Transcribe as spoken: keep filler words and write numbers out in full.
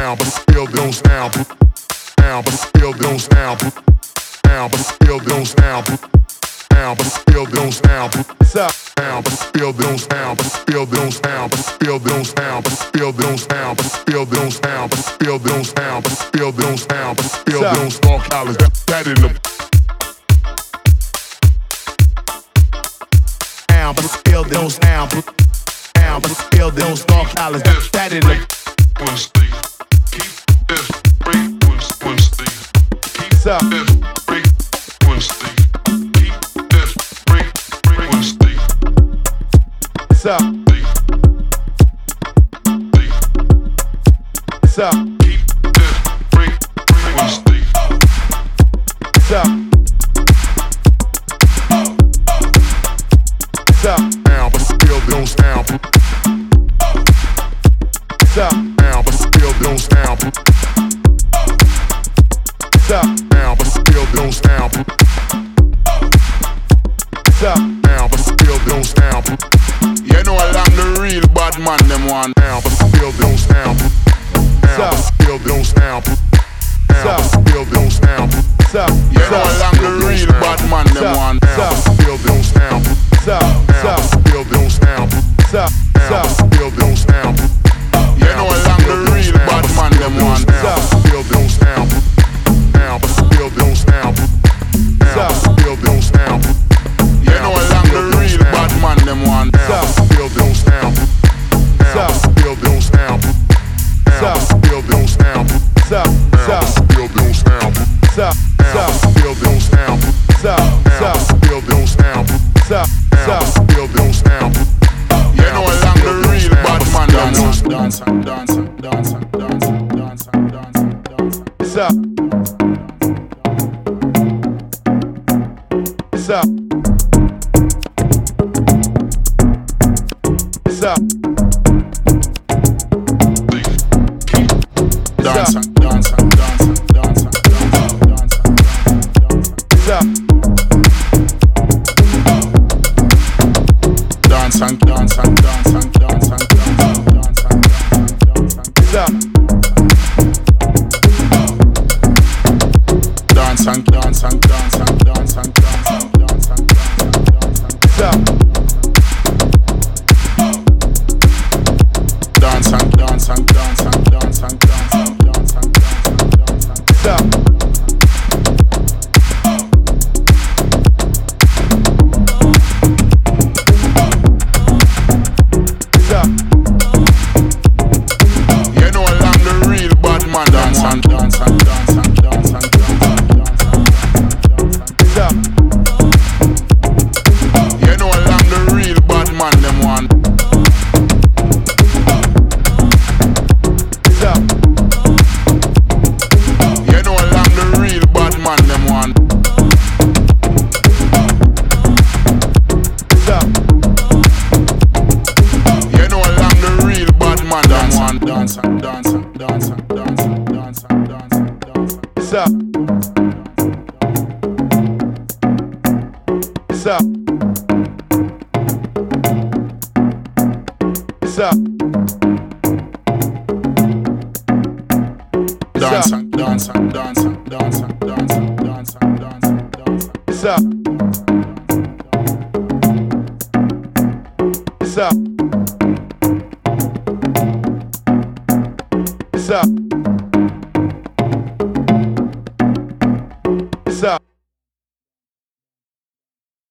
sound, but still don't sound. Sound, but still don't sound. Sound, but still don't sound. Sound, but still don't sound. Sound, but still don't sound. Still don't sound. Still don't sound. Still don't sound. Still don't sound. Still don't sound. Still don't sound. Still don't small collars. That in the sound, but still don't sound. Sound, but still don't small collars. That in the keep this frequency. Keep this frequency. Keep this frequency. What's up? What's up? Keep this frequency. What's up? What's up? Now, but still don't sound. What's up? Now, but still don't sound. What's up? Now, but still don't sound. What's up? Now, but still don't sound. You know along the real bad man them one. Now, but still don't sound. Now, but still don't sound. Now, but still don't sound. You know along the real bad man them one. Now, but still don't sound. Now, but still don't sound. Now, but still don't sound. You know along the real bad man them one. Now, but still don't sound. Now, but still don't sound. Now, but still don't sound. You know along the real bad man them one. Now, but still don't sound. Now, but still don't sound. Now, but still don't sound. Now, but still don't sound. Now, but still don't sound. Now, but still don't sound. Now, but still don't sound. You know along the real bad man them one. Dance and dance and dance and dance and dance and dance and dance. What's up? What's up? What's up? Dance and dance and dance and dance and dance and dance and dance. What's up? Dance and dance and dance and dance and dance and dance and dance and What's up? dance and dance and dance and dance and dance and dance and dance and What's up? dance and dance and dance and dance and dance and dance and dance and What's up? What's up? you know along the real bad man dance and dance and dance and dance and dance and dance and What's up? you know along the real bad man them one. What's up? You know along the real bad man them one. What's up? You know along the real bad man them one. Dance and dance and dance and dance and dance and dance and dance. What's up? What's up? What's up? Dance and dance and dance and dance and dance and dance and dance and dance. What's up? What's up? What's up? What's up?